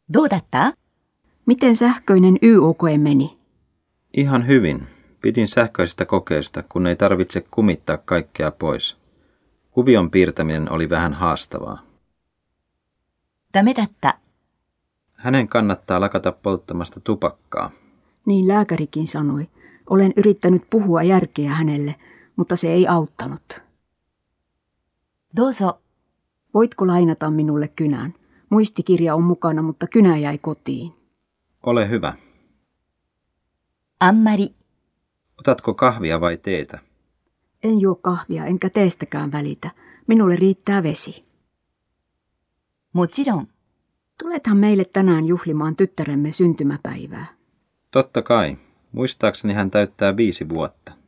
どうだった? Miten sähköinen YO-koe meni? Ihan hyvin. Pidin sähköisestä kokeesta, kun ei tarvitse kumittaa kaikkea pois. Kuvion piirtäminen oli vähän haastavaa. ダメだった。 Hänen kannattaa lakata polttamasta tupakkaa. Niin lääkärikin sanoi. Olen yrittänyt puhua järkeä hänelle, mutta se ei auttanut. どうぞ。 Voitko lainata minulle kynän? Muistikirja on mukana, mutta kynä jäi kotiin. Ole hyvä. あんまり。 Otatko kahvia vai teetä? En juo kahvia enkä teestäkään välitä. Minulle riittää vesi. もちろん。 Tulethan meille tänään juhlimaan tyttäremme syntymäpäivää. Totta kai. Muistaakseni hän täyttää 5 vuotta.